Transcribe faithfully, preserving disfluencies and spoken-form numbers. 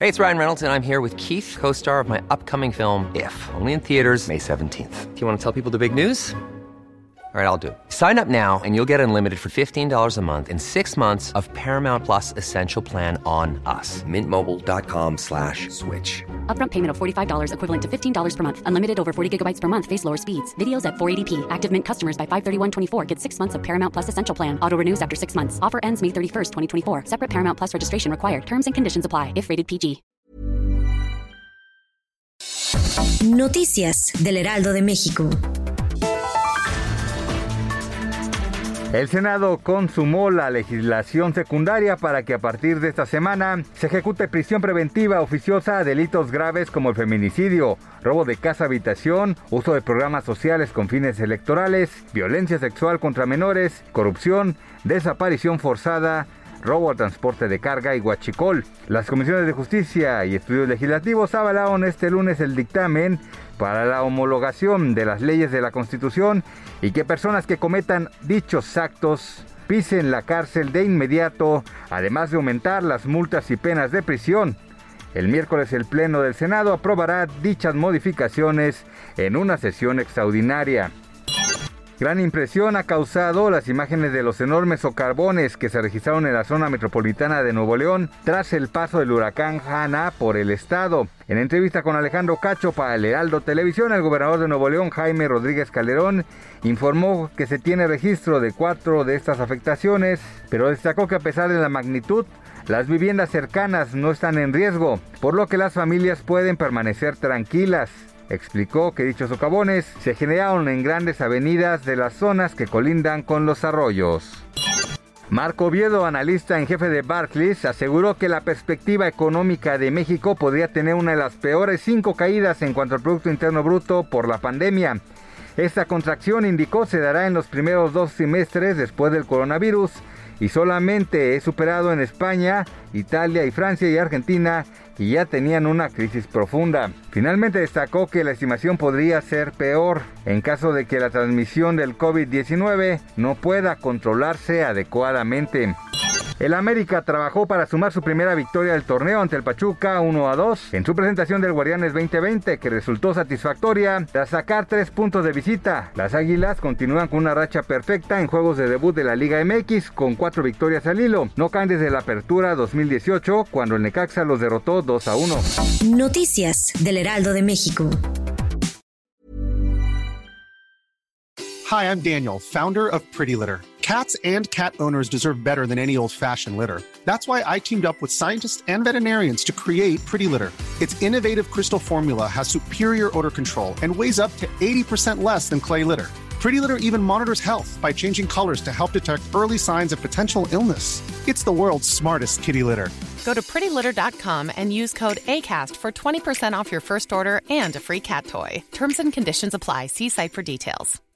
Hey, it's Ryan Reynolds, and I'm here with Keith, co-star of my upcoming film, If, only in theaters May seventeenth. Do you want to tell people the big news? All right, I'll do it. Sign up now and you'll get unlimited for fifteen dollars a month and six months of Paramount Plus Essential Plan on us. Mint Mobile dot com slash switch. Upfront payment of forty-five dollars equivalent to fifteen dollars per month. Unlimited over forty gigabytes per month. Face lower speeds. Videos at four eighty p. Active Mint customers by five thirty-one twenty-four get six months of Paramount Plus Essential Plan. Auto renews after six months. Offer ends May thirty-first, twenty twenty-four. Separate Paramount Plus registration required. Terms and conditions apply if rated P G. Noticias del Heraldo de México. El Senado consumó la legislación secundaria para que a partir de esta semana se ejecute prisión preventiva oficiosa a delitos graves como el feminicidio, robo de casa-habitación, uso de programas sociales con fines electorales, violencia sexual contra menores, corrupción, desaparición forzada, robo al transporte de carga y huachicol. Las comisiones de justicia y estudios legislativos avalaron este lunes el dictamen para la homologación de las leyes de la Constitución y que personas que cometan dichos actos pisen la cárcel de inmediato, además de aumentar las multas y penas de prisión. El miércoles el Pleno del Senado aprobará dichas modificaciones en una sesión extraordinaria. Gran impresión ha causado las imágenes de los enormes socavones que se registraron en la zona metropolitana de Nuevo León tras el paso del huracán Hanna por el estado. En entrevista con Alejandro Cacho para el Heraldo Televisión, el gobernador de Nuevo León, Jaime Rodríguez Calderón, informó que se tiene registro de cuatro de estas afectaciones, pero destacó que a pesar de la magnitud, las viviendas cercanas no están en riesgo, por lo que las familias pueden permanecer tranquilas. Explicó que dichos socavones se generaron en grandes avenidas de las zonas que colindan con los arroyos. Marco Oviedo, analista en jefe de Barclays, aseguró que la perspectiva económica de México podría tener una de las peores cinco caídas en cuanto al Producto Interno Bruto por la pandemia. Esta contracción, indicó, se dará en los primeros dos semestres después del coronavirus y solamente es superado en España, Italia y Francia y Argentina, que ya tenían una crisis profunda. Finalmente destacó que la estimación podría ser peor en caso de que la transmisión del COVID diecinueve no pueda controlarse adecuadamente. El América trabajó para sumar su primera victoria del torneo ante el Pachuca uno a dos en su presentación del Guardianes veinte veinte, que resultó satisfactoria tras sacar tres puntos de visita. Las Águilas continúan con una racha perfecta en juegos de debut de la Liga M X con cuatro victorias al hilo. No caen desde la apertura dos mil dieciocho, cuando el Necaxa los derrotó dos a uno. Noticias del Heraldo de México. Hi, I'm Daniel, founder of Pretty Litter. Cats and cat owners deserve better than any old-fashioned litter. That's why I teamed up with scientists and veterinarians to create Pretty Litter. Its innovative crystal formula has superior odor control and weighs up to eighty percent less than clay litter. Pretty Litter even monitors health by changing colors to help detect early signs of potential illness. It's the world's smartest kitty litter. Go to pretty litter dot com and use code ACAST for twenty percent off your first order and a free cat toy. Terms and conditions apply. See site for details.